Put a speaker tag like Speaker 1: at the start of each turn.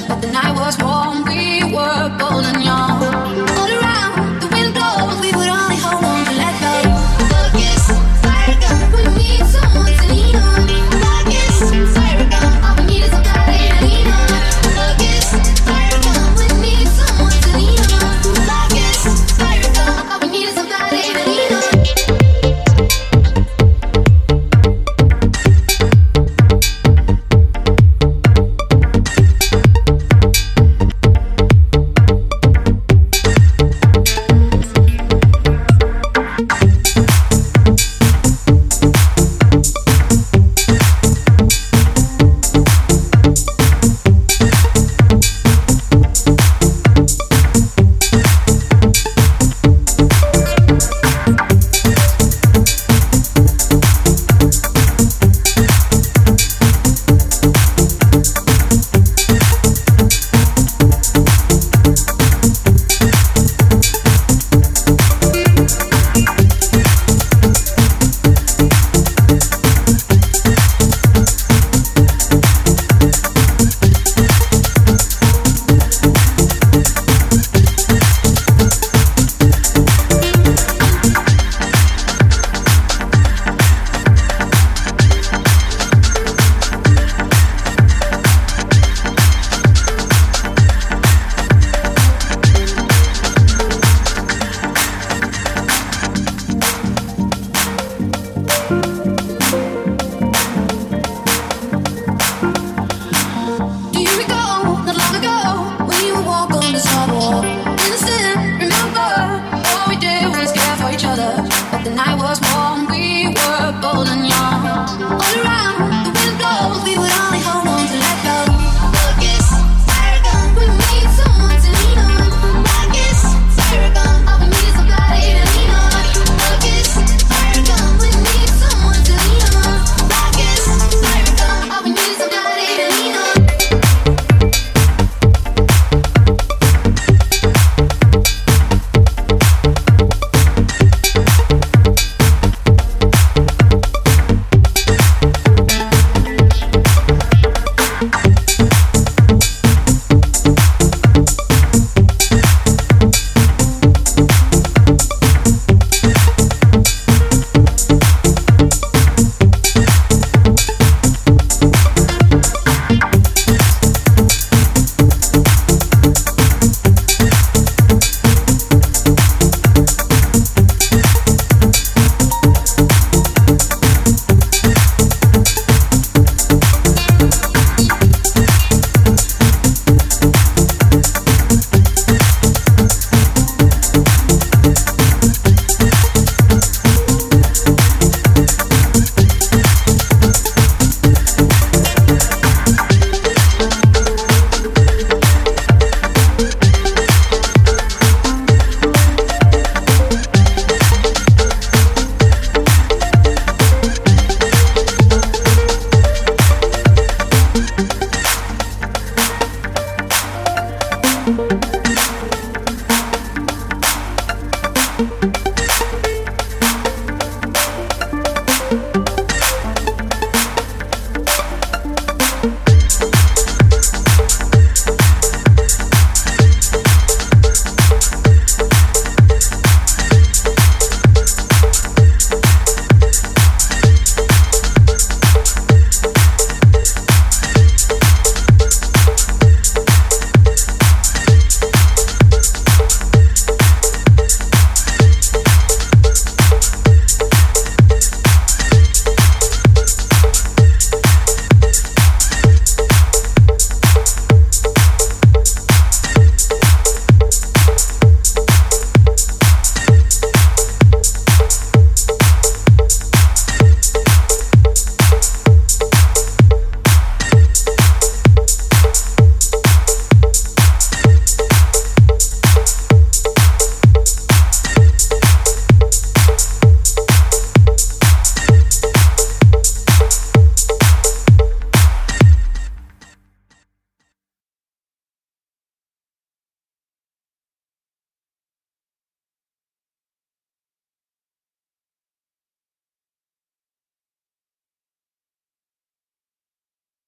Speaker 1: but the night was warm. We were bold and young. All around, the wind blows. We would only hold on to let go. Focus, fire gun. We need someone to lean on. Focus, fire gun. All we need is somebody to lean on. Focus, fire gun. We need someone to lean on. Focus, fire gun. All we need is somebody to lean on. But the night was warm, we were bold and young. All around, the wind blows, we would only hold on to let go. Focus, fire gun, we need someone to lean on. Focus, fire gun, all we need is somebody to lean on. Focus, fire gun, we need someone to lean on. Focus, fire gun, all we need is somebody to lean on.
Speaker 2: Thank